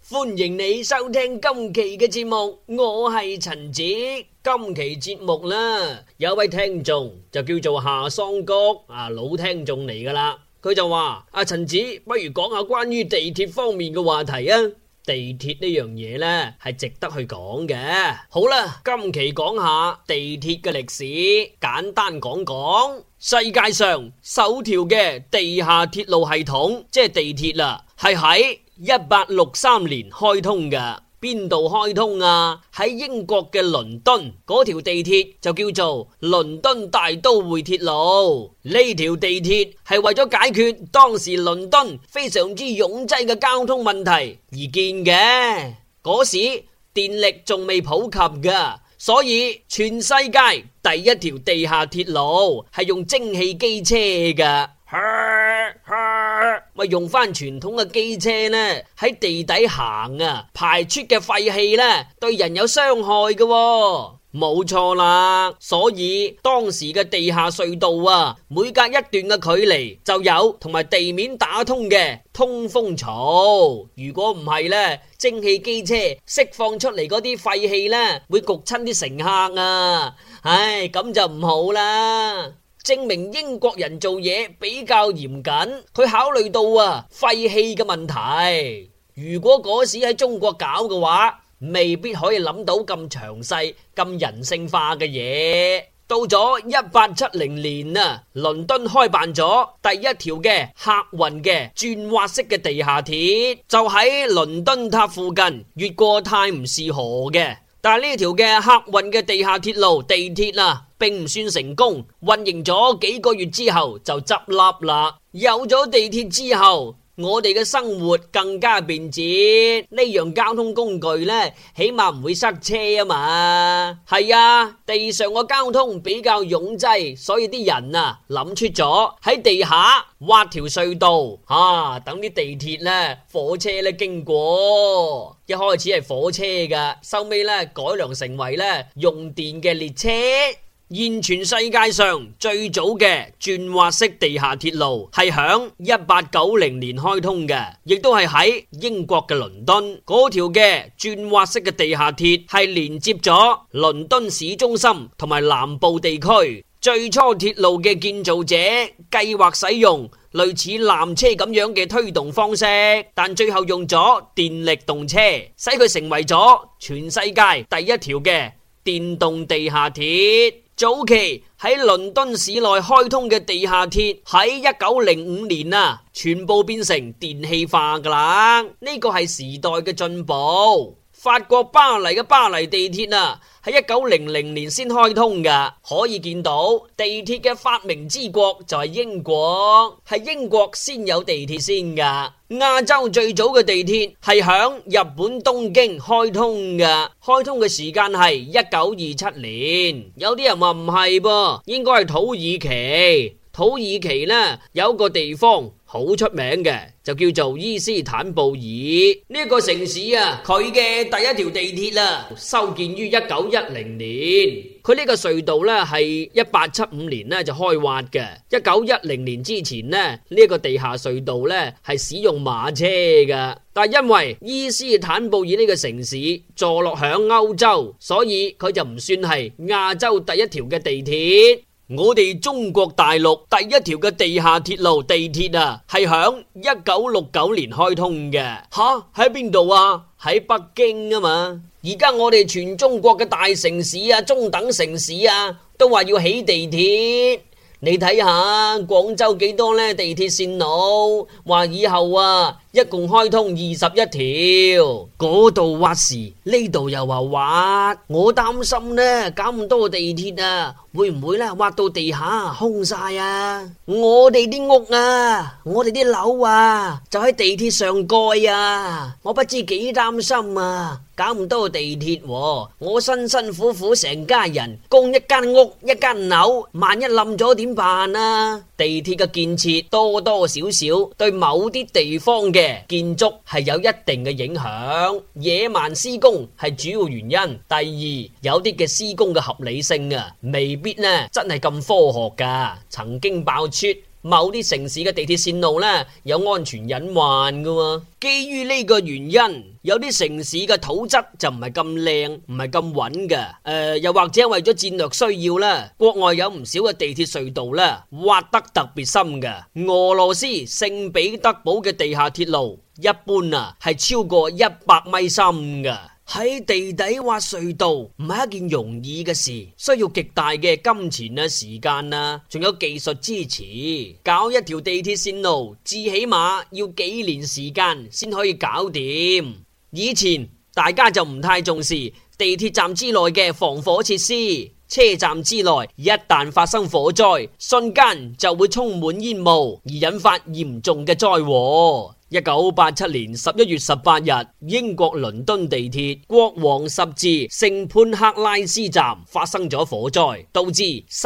歡迎你收聽今期嘅節目，我係陳子。今期節目啦，有位聽眾就叫做夏桑菊老聽眾嚟噶啦。佢就話：阿陳子，不如講下關於地鐵方面嘅話題啊。地鐵呢樣嘢呢係值得去講嘅。好啦，今期講下地鐵嘅歷史，簡單講講。世界上首條嘅地下鐵路系統，即係地鐵啦，係喺1863年開通嘅。邊度開通啊？喺英國嘅倫敦，嗰條地鐵就叫做倫敦大都會鐵路。呢條地鐵係為咗解決當時倫敦非常之擁擠嘅交通問題而建嘅。嗰時電力仲未普及噶，所以全世界第一條地下鐵路係用蒸汽機車噶。咪用翻傳統嘅機車呢，喺地底行啊，排出嘅廢氣呢，對人有傷害嘅喎。冇錯啦，所以當時嘅地下隧道啊，每隔一段嘅距離就有同埋地面打通嘅通風槽。如果唔係呢，蒸汽機車釋放出嚟嗰啲廢氣呢，會焗親啲乘客啊，唉，咁就唔好啦。證明英國人做嘢比較嚴謹，佢考慮到廢氣嘅問題。如果嗰時喺中國搞嘅話，未必可以諗到咁詳細、咁人性化嘅嘢。到咗1870年倫敦開辦咗第一條嘅客運嘅轉滑式嘅地下鐵，就喺倫敦塔附近越過泰晤士河嘅。但係呢條嘅客運嘅地下鐵路地鐵並唔算成功，運營咗幾個月之後就執笠啦。有咗地鐵之後，我哋嘅生活更加便捷，呢樣交通工具呢，起碼唔會塞車啊嘛。係啊，地上個交通比較擁擠，所以啲人諗出咗喺地下挖條隧道等啲地鐵呢、火車呢經過。一開始係火車噶，收尾呢改良成為呢用電嘅列車。現全世界上最早嘅轉滑式地下鐵路係響1890年開通嘅，亦都係喺英國嘅倫敦。嗰條嘅轉滑式嘅地下鐵係連接咗倫敦市中心同埋南部地區。最初鐵路嘅建造者計劃使用類似纜車咁樣嘅推動方式，但最後用咗電力動車，使佢成為咗全世界第一條嘅電動地下鐵。早期喺倫敦市內開通嘅地下鐵喺1905年全部變成電氣化噶啦。呢個係時代嘅進步。法國巴黎嘅巴黎地鐵喺1900年先開通噶，可以見到地鐵嘅發明之國就係英國，係英國先有地鐵先噶。亞洲最早嘅地鐵係響日本東京開通噶，開通嘅時間係1927年。有啲人話唔係噃，應該係土耳其。土耳其呢有一個地方好出名嘅，就叫做伊斯坦布爾。呢個城市佢嘅第一條地鐵修建於1910年。佢呢個隧道呢係1875年就開挖嘅。1910年之前呢個地下隧道呢係使用馬車㗎。但係因為伊斯坦布爾呢個城市坐落響歐洲，所以佢就唔算係亞洲第一條嘅地鐵。我哋中國大陸第一條嘅地下鐵路地鐵係響1969年開通嘅。喺邊度啊？喺北京啊嘛。而家我哋全中國嘅大城市中等城市都話要起地鐵。你睇下廣州幾多呢地鐵線路，話以後一共開通21條，嗰度挖時呢度又話挖，我擔心呢搞咁多地鐵會唔會挖到地下空晒啊？我哋啲屋我哋啲樓就喺地鐵上蓋我不知幾擔心搞咁多地鐵我辛辛苦苦成家人供一間屋一間樓，萬一冧咗點辦啊？地鐵嘅建設多多少少對某啲地方嘅建築係有一定嘅影響，野蠻施工係主要原因。第二，有啲嘅施工嘅合理性未必真係咁科學噶。曾經爆出某啲城市嘅地鐵線路呢，有安全隱患㗎。基於呢個原因，有啲城市嘅土質就唔係咁靚，唔係咁穩嘅。又或者為咗戰略需要啦，國外有唔少嘅地鐵隧道啦，挖得特別深嘅。俄羅斯聖彼得堡嘅地下鐵路一般啊係超過100米深嘅。喺地底挖隧道唔係一件容易嘅事，需要極大嘅金錢啊、時間啊，仲有技術支持。搞一條地鐵線路，至起碼要幾年時間先可以搞掂。以前大家就唔太重視地鐵站之內嘅防火設施，車站之內一旦發生火災，瞬間就會充滿煙霧，而引發嚴重嘅災禍。1987年11月18日，英國倫敦地鐵國王十字聖潘克拉斯站發生咗火災，導致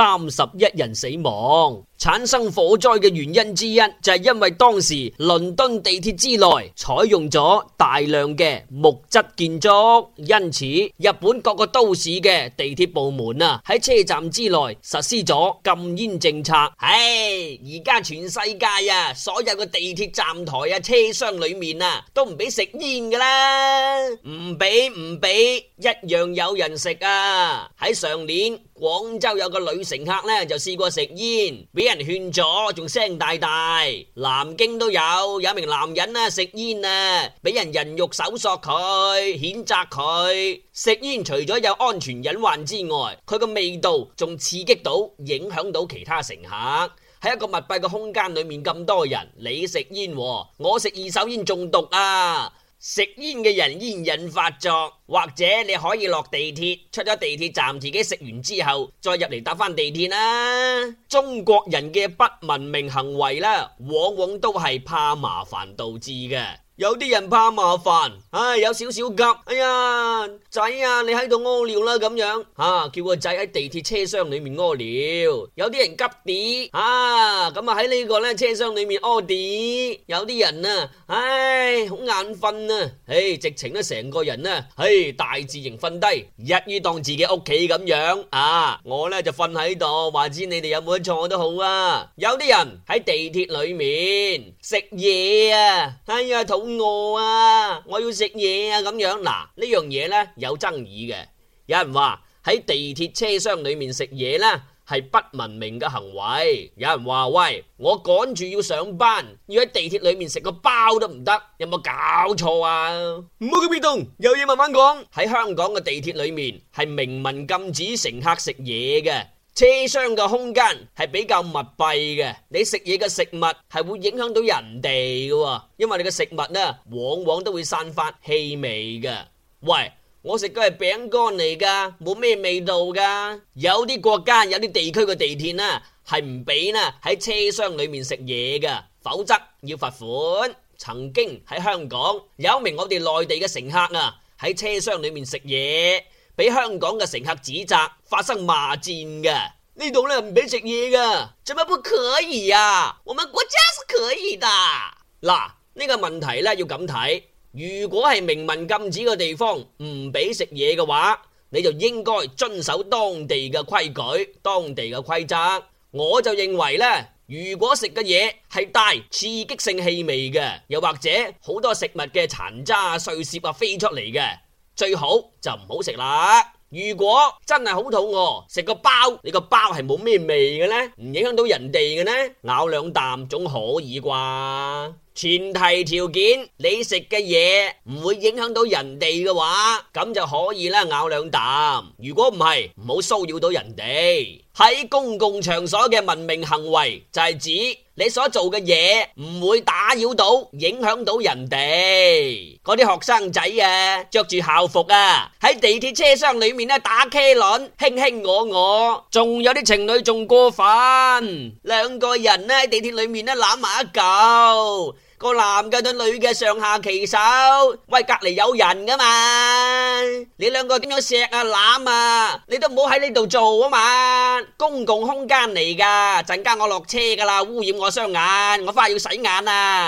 31人死亡。產生火災嘅原因之一就係因為當時倫敦地鐵之內採用咗大量嘅木質建築，因此日本各個都市嘅地鐵部門啊喺車站之內實施咗禁煙政策。而家全世界啊，所有嘅地鐵站台啊、車廂裏面啊都唔俾食煙噶啦，唔俾，一樣有人食啊！喺上年廣州有個女乘客呢就試過食煙，俾人勸咗，仲聲大大。南京都有一名男人啊食煙啊，俾人人肉搜索佢，譴責佢。食煙除咗有安全隱患之外，佢個味道仲刺激到影響到其他乘客。喺一個密閉嘅空間裏面咁多人，你食煙，我食二手煙中毒啊！食煙嘅人煙癮發作，或者你可以落地鐵，出咗地鐵站自己食完之後再入嚟搭翻地鐵啦。中國人嘅不文明行為啦，往往都係怕麻煩導致嘅。有啲人怕麻煩，有少少急，哎呀仔啊，你喺度屙尿啦咁樣，叫個仔喺地鐵車廂裏面屙尿。有啲人急啲，咁啊喺呢個咧車廂裏面屙啲。有啲人啊，好眼瞓啊，直情咧成個人啊，大字型瞓低，一於當自己屋企咁樣。我咧就瞓喺度，話知你哋有冇得坐都好啊。有啲人喺地鐵裏面食嘢啊，肚餓啊，我要食嘢啊咁樣。嗱，呢樣嘢呢有爭議嘅。有人話喺地鐵車廂裏面食嘢呢係不文明嘅行為。有人話喂，我趕住要上班，要喺地鐵裏面食個包都唔得，有冇搞錯啊？唔好咁激動，有嘢慢慢講。喺香港嘅地鐵裏面係明文禁止乘客食嘢嘅。車廂嘅空間係比較密閉嘅，你食嘢嘅食物係會影響到人哋嘅，因為你嘅食物呢往往都會散發氣味嘅。喂，我食嘅係餅乾嚟噶，冇咩味道噶。有啲國家有啲地區嘅地鐵呢係唔俾呢喺車廂裏面食嘢噶，否則要罰款。曾經喺香港有一名我哋內地嘅乘客啊喺車廂裏面食嘢，俾香港嘅乘客指責，發生罵戰嘅。呢度咧唔俾食嘢噶，怎麼不可以啊？我們國家是可以的。嗱，呢個問題咧要咁睇，如果係明文禁止嘅地方唔俾食嘢嘅話，你就應該遵守當地嘅規矩、當地嘅規則。我就認為咧，如果食嘅嘢係帶刺激性氣味嘅，又或者好多食物嘅殘渣碎屑飛出嚟嘅，最好就唔好食啦。如果真係好肚餓，食個包，你個包係冇咩味嘅呢？唔影響到人哋嘅呢？咬兩啖總可以啩？前提條件，你食嘅嘢唔會影響到人哋嘅話，咁就可以啦，咬兩啖。如果唔係，唔好騷擾到人哋。喺公共場所嘅文明行為就係指你所做嘅嘢唔會打擾到、影響到人哋。嗰啲學生仔啊，着住校服啊，喺地鐵車廂裏面打茄輪，卿卿我我。仲有啲情侶仲過分，兩個人喺地鐵裏面攬埋一嚿。個男嘅對女嘅上下其手，喂，隔籬有人噶嘛？你兩個點樣錫啊攬啊？你都唔好喺呢度做啊嘛！公共空間嚟噶，陣間我落車噶啦，污染我雙眼，我翻去要洗眼啊！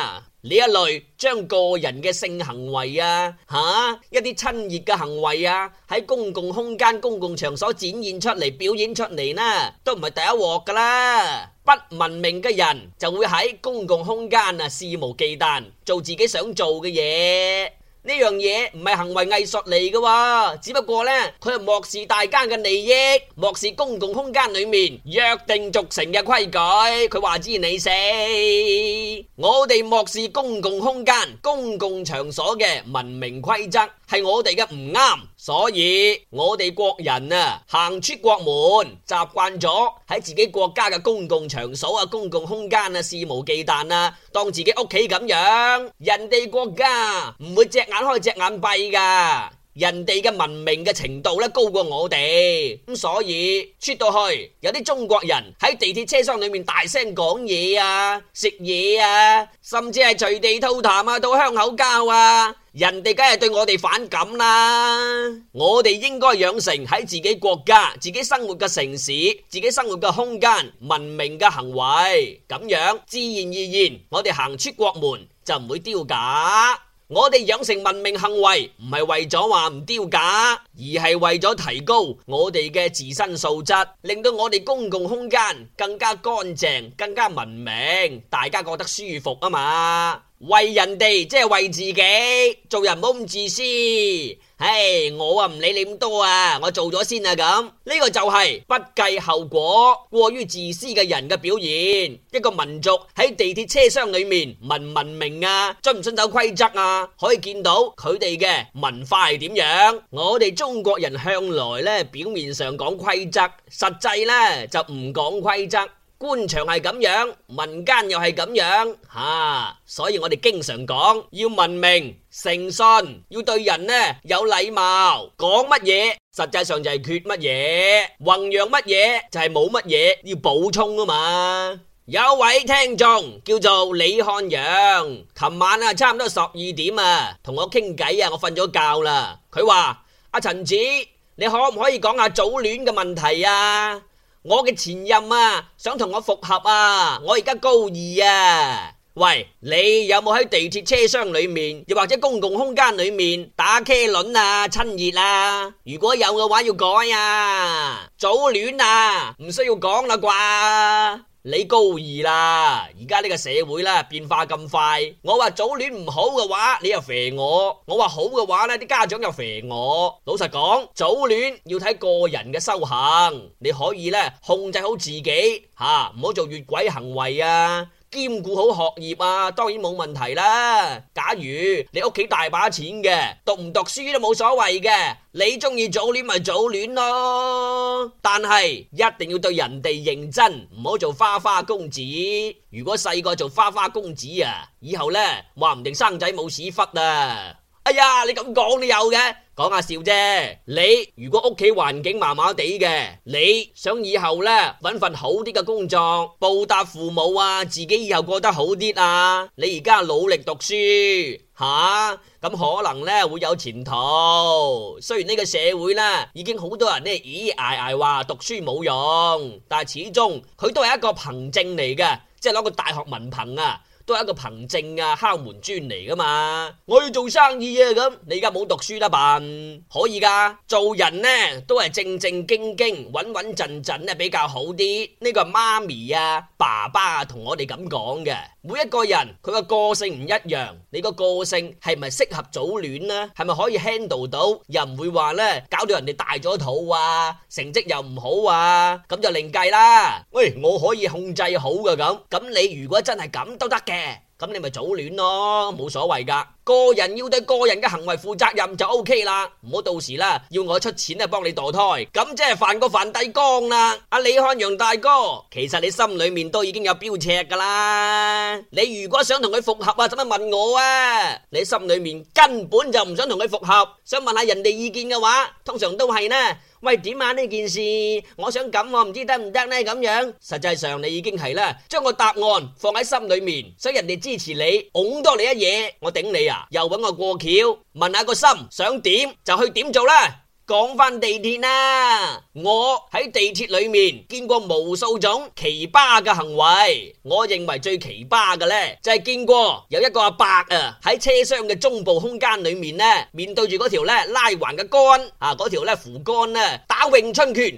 呢一類將個人嘅性行為啊，一啲親熱嘅行為啊，喺公共空間、公共場所展現出嚟、表演出嚟呢，都唔係第一鑊噶啦。不文明嘅人就會喺公共空間啊肆無忌憚做自己想做嘅嘢。呢樣嘢唔係行為藝術嚟嘅，只不過呢，佢係漠視大家嘅利益，漠視公共空間裏面約定俗成嘅規矩。佢話知你死，我哋漠視公共空間、公共場所嘅文明規則，係我哋嘅唔啱。所以我哋國人啊，行出國門，習慣咗喺自己國家嘅公共場所啊、公共空間啊肆無忌憚啊，當自己屋企咁樣。人哋國家唔會隻眼開隻眼閉噶，人哋嘅文明嘅程度咧高過我哋，咁所以出到去有啲中國人喺地鐵車廂裏面大聲講嘢啊、食嘢啊，甚至係隨地吐痰啊、吐香口膠啊。人哋梗係對我哋反感啦，我哋應該養成喺自己國家、自己生活嘅城市、自己生活嘅空間文明嘅行為，咁樣自然而然我哋行出國門就唔會丟架。我哋養成文明行為唔係為咗話唔丟架，而係為咗提高我哋嘅自身素質，令到我哋公共空間更加乾淨、更加文明，大家覺得舒服啊嘛。為人哋即係為自己，做人唔好咁自私。我啊唔理你咁多啊，我做咗先啊咁。呢個就係不計後果、過於自私嘅人嘅表現。一個民族喺地鐵車廂裏面文唔文明啊，遵唔遵守規則啊，可以見到佢哋嘅文化係點樣。我哋中國人向來咧表面上講規則，實際咧就唔講規則。官場係咁樣，民間又係咁樣，所以我哋經常講要文明、誠信，要對人呢有禮貌，講乜嘢實際上就係缺乜嘢，弘揚乜嘢就係冇乜嘢，要補充啊嘛。有位聽眾叫做李漢陽，琴晚啊差唔多12點啊，同我傾偈啊，我瞓咗覺啦。佢話阿陳子，你可唔可以講下早戀嘅問題啊？我嘅前任啊，想同我復合啊，我而家高2啊。喂，你有冇喺地鐵車廂裏面，又或者公共空間裏面打茄輪啊、親熱啊？如果有嘅話，要改啊。早戀啊，唔需要講啦啩。你高2啦，而家呢個社會啦變化咁快，我話早戀唔好嘅話，你又肥我；我話好嘅話呢，啲家長又肥我。老實講，早戀要睇個人嘅修行，你可以呢控制好自己唔好做越軌行為啊。兼顧好學業啊，當然冇問題啦。假如你屋企大把錢嘅，讀唔讀書都冇所謂嘅，你中意早戀咪早戀咯。但係一定要對人哋認真，唔好做花花公子。如果細個做花花公子啊，以後呢話唔定生仔冇屎忽啊。哎呀，你咁講都有嘅，講下笑啫。你如果屋企環境麻麻地嘅，你想以後呢搵份好啲嘅工作，報答父母啊，自己以後過得好啲啊。你而家努力讀書咁可能呢會有前途。雖然呢個社會呢已經好多人呢咿嗌嗌話讀書冇用，但係始終佢都係一個憑證嚟嘅，即係攞個大學文憑啊，都係一個憑證啊，敲門磚嚟噶嘛。我要做生意啊，咁你而家冇讀書啦辦？可以噶，做人呢都係正正經經、穩穩陣陣呢比較好啲。呢個係媽咪啊、爸爸啊同我哋咁講嘅。每一個人佢個性唔一樣，你個個性係咪適合早戀呢？係咪可以 handle 到？又唔會話呢搞到人哋大咗肚啊，成績又唔好啊，咁就另計啦。喂，我可以控制好嘅咁你如果真係咁都得嘅，咁你咪早戀咯，冇所謂噶。個人要對個人嘅行為負責任就 OK 啦，唔好到時啦要我出錢啊幫你墮胎，咁即係犯過梵蒂岡啦。阿李漢陽大哥，其實你心裏面都已經有標尺噶啦。你如果想同佢復合啊，使乜問我啊？你心裏面根本就唔想同佢復合，想問下人哋意見嘅話，通常都係呢，喂，點啊呢件事，我想咁我唔知得唔得呢咁樣。實際上你已經係啦，將個答案放喺心裏面，想人哋支持你，拱多你一嘢，我頂你啊！又搵我過橋，問下個心想點就去點做啦。 講翻地鐵啦，我喺地鐵裏面見過無數種奇葩嘅行為。我認為最奇葩嘅呢，就係見過有一個阿伯啊喺車廂嘅中部空間裏面呢，面對住嗰條呢拉環嘅杆啊，嗰條呢扶杆呢打詠春拳，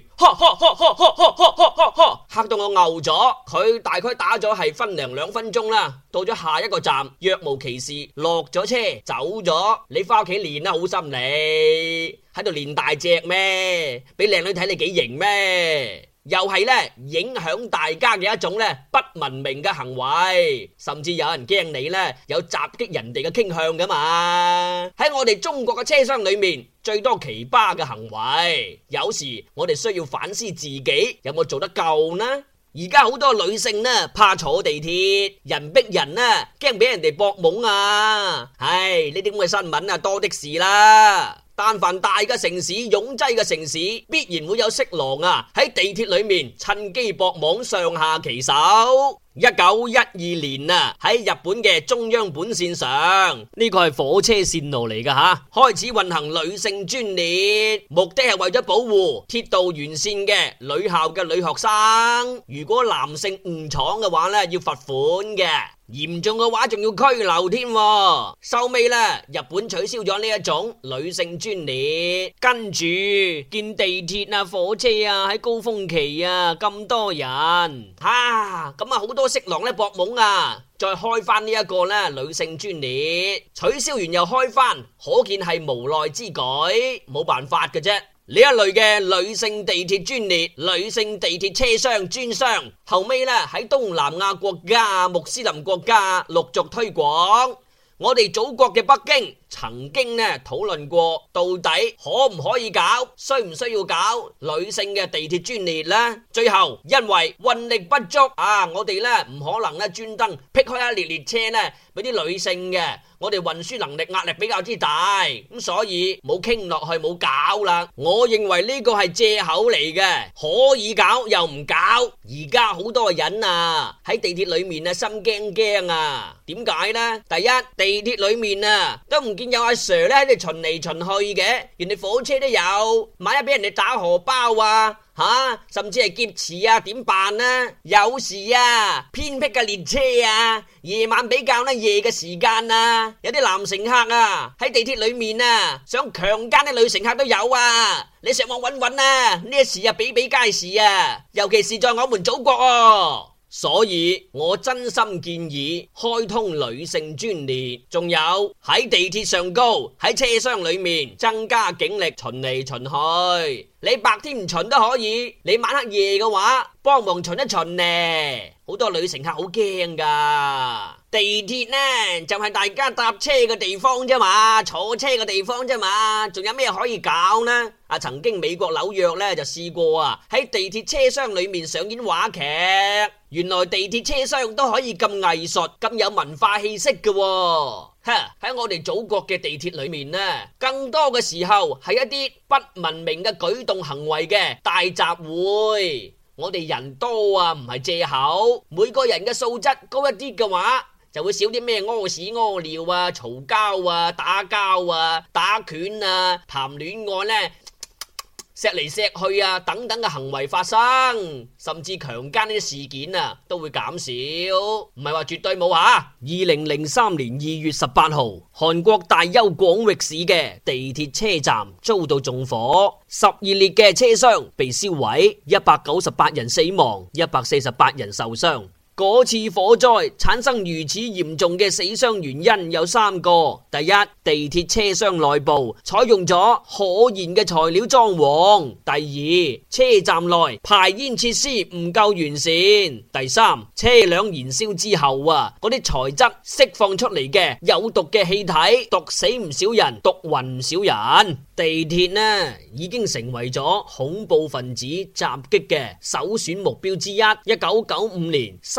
嚇到我牛咗。佢大概打咗係分零2分鐘啦，到咗下一個站若無其事落咗車走咗。你翻屋企練啦，好心你喺度練大隻咩？俾靚女睇你幾型咩？又係咧影響大家嘅一種咧不文明嘅行為，甚至有人驚你咧有襲擊人哋嘅傾向噶嘛。喺我哋中國嘅車廂裏面最多奇葩嘅行為，有時我哋需要反思自己有冇做得夠呢？而家好多女性呢怕坐地鐵，人逼人呢驚俾人哋搏懵啊！唉，呢啲咁嘅新聞啊多的是啦。但凡大嘅城市、擁擠嘅城市，必然會有色狼啊喺地鐵裏面趁機搏懵，上下其手。1912年啊，喺日本嘅中央本線上，呢個係火車線路嚟噶吓，開始運行女性專列，目的係為咗保護鐵道沿線嘅女校嘅女學生。如果男性誤闖嘅話呢，要罰款嘅。嚴重嘅話仲要拘留添。收尾呢，日本取消咗呢一種女性專列，跟住見地鐵啊、火車啊喺高峰期啊咁多人，咁啊好多色狼呢搏懵啊，再開翻呢一個呢女性專列，取消完又開翻，可見係無奈之舉，冇辦法嘅啫。呢一類嘅女性地鐵專列、女性地鐵車廂專廂，後尾呢喺東南亞國家、穆斯林國家陸續推廣。我哋祖國嘅北京曾經呢討論過，到底可唔可以搞，需唔需要搞女性嘅地鐵專列呢？最後因為運力不足啊，我哋呢唔可能呢專登闢開一列列車呢俾啲女性嘅，我哋運輸能力壓力比較之大，咁所以冇傾落去，冇搞啦。我認為呢個係借口嚟嘅，可以搞又唔搞。而家好多人啊喺地鐵裏面啊心驚驚啊，點解呢？第一，地鐵裏面啊都唔見有阿 Sir 咧喺度巡嚟巡去嘅，人哋火車都有，萬一俾人哋打荷包啊甚至係劫持啊，點辦呢？有時啊偏僻嘅列車啊，夜晚比較夜嘅時間啊，有啲男乘客啊喺地鐵裏面啊想強姦啲女乘客都有啊。你上網搵搵啊，呢一時啊比比皆是啊，尤其是在我們祖國哦。所以我真心建議開通女性專列，仲有喺地鐵上高喺車廂裏面增加警力巡嚟巡去。你白天唔巡都可以，你晚黑夜嘅話幫忙巡一巡呢。好多女乘客好驚噶。地鐵呢就係大家搭車嘅地方啫嘛，坐車嘅地方啫嘛，仲有咩可以搞呢？曾經美國紐約呢就試過啊，喺地鐵車廂裏面上演話劇。原來地鐵車廂都可以咁藝術、咁有文化氣息嘅喎。喺我哋祖國嘅地鐵裏面呢，更多嘅時候係一啲不文明嘅舉動行為嘅大集會。我哋人多啊，唔係借口。每個人嘅素質高一啲嘅話，就會少啲咩屙屎屙尿啊、嘈交啊、打交啊、打拳啊、談戀愛呢，錫嚟錫去啊等等嘅行為發生，甚至強姦呢啲事件啊都會減少，唔係話絕對冇吓。2003年2月18號，韓國大邱廣域市嘅地鐵車站遭到縱火，12列嘅車廂被燒毀，198人死亡，148人受傷。嗰次火災產生如此嚴重嘅死傷原因有3個。第一，地鐵車廂內部採用咗可燃嘅材料裝潢；第二，車站內排煙設施唔夠完善；第三，車輛燃燒之後嗰啲材質釋放出嚟嘅有毒嘅氣體，毒死唔少人，毒暈唔少人。地鐵呢已經成為咗恐怖分子襲擊嘅首選目標之一。1995年3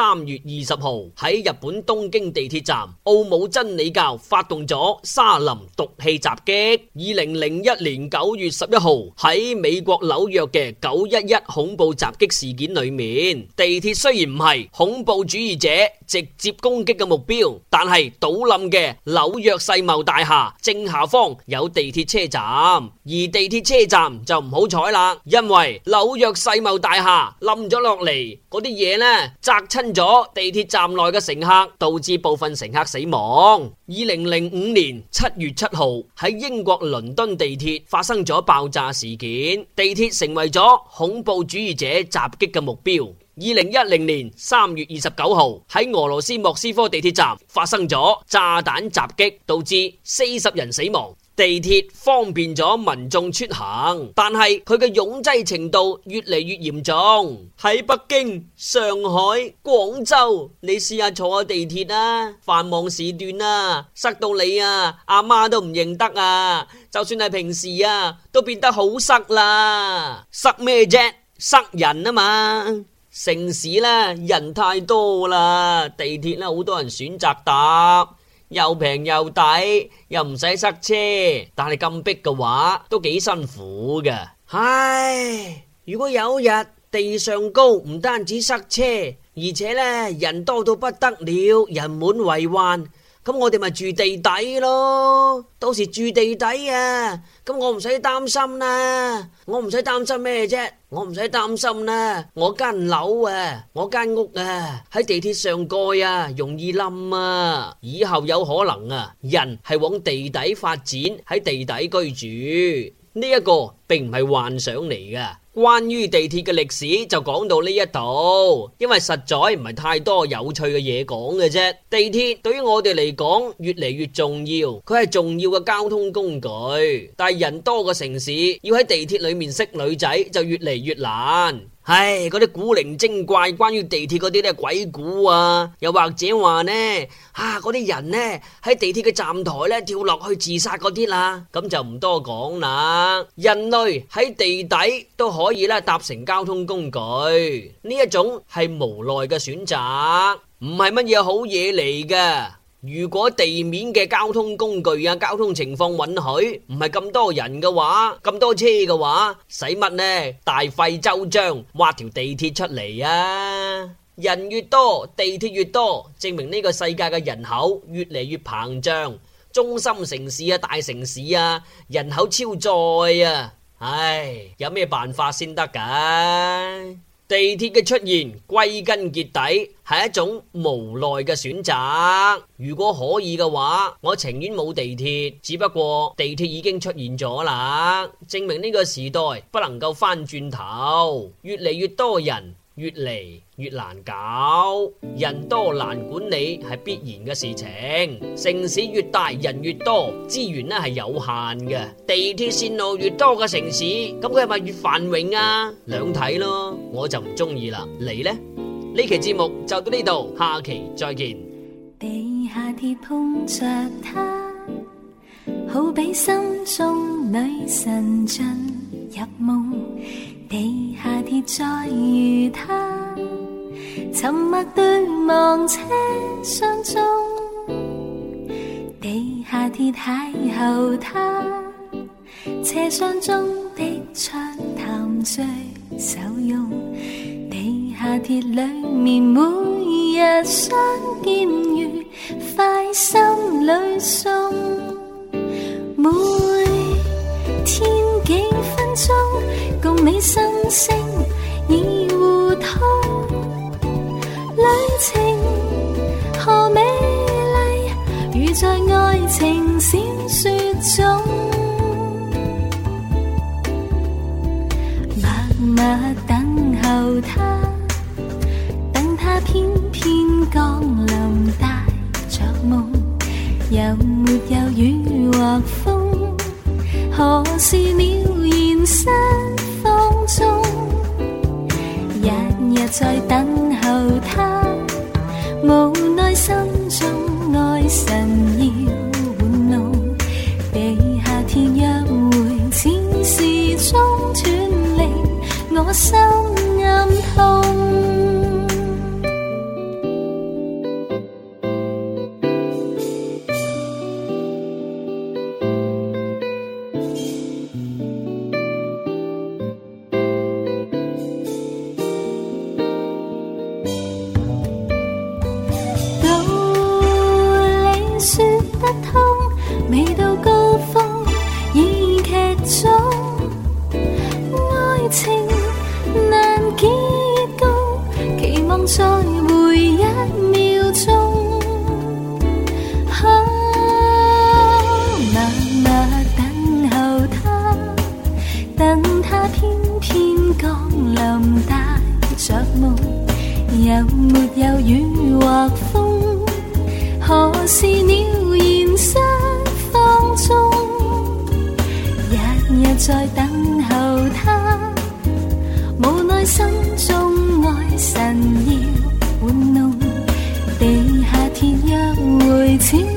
3月20號喺日本東京地鐵站奧姆真理教發動咗沙林毒氣襲擊。2001年9月11號喺美國紐約嘅911恐怖襲擊事件裏面，地鐵雖然唔係恐怖主義者直接攻擊嘅目標，但係倒冧嘅紐約世貿大廈正下方有地鐵車站，而地鐵車站就唔好彩啦，因為紐約世貿大廈冧咗落嚟嗰啲嘢呢，砸親咗地鐵站內嘅乘客，導致部分乘客死亡。2005年7月7號喺英國倫敦地鐵發生咗爆炸事件，地鐵成為咗恐怖主義者襲擊嘅目標。2010年3月29號喺俄羅斯莫斯科地鐵站發生咗炸彈襲擊，導致40人死亡。地鐵方便咗民眾出行，但係佢嘅擁擠程度越嚟越嚴重。喺北京、上海、廣州，你試下坐下地鐵啊，繁忙時段啊，塞到你啊，阿媽都唔認得啊！就算係平時啊，都變得好塞啦。塞咩啫？塞人啊嘛！城市呢，人太多啦，地鐵呢，好多人選擇搭，又平又抵，又唔使塞車，但係咁逼嘅話都幾辛苦㗎。唉，如果有日地上高唔單止塞車，而且呢，人多到不得了，人滿為患，咁我哋咪住地底咯。到時住地底啊，咁我唔使擔心啦。我唔使擔心咩啫？我唔使擔心啦。我間樓啊，我間屋啊，喺地鐵上蓋啊，容易冧啊。以後有可能啊，人係往地底發展，喺地底居住。呢一個並唔係幻想嚟㗎。關於地鐵嘅歷史就講到呢一度，因為實在唔係太多有趣嘅嘢講嘅啫。地鐵對於我哋嚟講越嚟越重要，佢係重要嘅交通工具，但係人多嘅城市要喺地鐵裏面識女仔就越嚟越難。唉，嗰啲古靈精怪關於地鐵嗰啲咧鬼故啊，又或者話呢嗰啲人呢喺地鐵嘅站台咧跳落去自殺嗰啲啦，咁就唔多講啦。人類喺地底都可以咧搭乘交通工具，呢一種係無奈嘅選擇，唔係乜嘢好嘢嚟㗎。如果地面嘅交通工具啊，交通情況允許，唔係咁多人嘅話，咁多車嘅話，使乜呢？大費周章挖條地鐵出嚟啊！人越多，地鐵越多，證明呢個世界嘅人口越嚟越膨脹，中心城市啊、大城市啊，人口超載啊！唉，有咩辦法先得㗎？地鐵嘅出現歸根結底係一種無奈嘅選擇。如果可以嘅話，我情願冇地鐵，只不過地鐵已經出現咗啦，證明呢個時代不能夠翻轉頭，越嚟越多人，越嚟越難搞，人多難管理係必然嘅事情。城市越大，人越多，資源咧係有限嘅。地鐵線路越多嘅城市，咁佢係咪越繁榮啊？兩睇咯，我就唔中意啦。你呢？呢期節目就到呢度，下期再見。 地下鐵碰着他，好比心中女神進入夢。地下鐵再遇他，沉默對望車廂中。地下鐵邂逅他，車廂中的暢談最受用。地下鐵裏面每日相見如快心裏送，每天幾分鐘共你心聲已互通，旅程何美麗，如在愛情小說中，默默等候他，等他偏偏降臨帶着夢，有沒有雨或風，何時了現實放縱，日日在等候他，無奈心中愛神要玩弄，地下鐵約會似時鐘斷離，我心暗痛。 有沒有雨或風？何時鳥現失放縱？日日在等候他，無奈心中愛神要玩弄，地下鐵約會似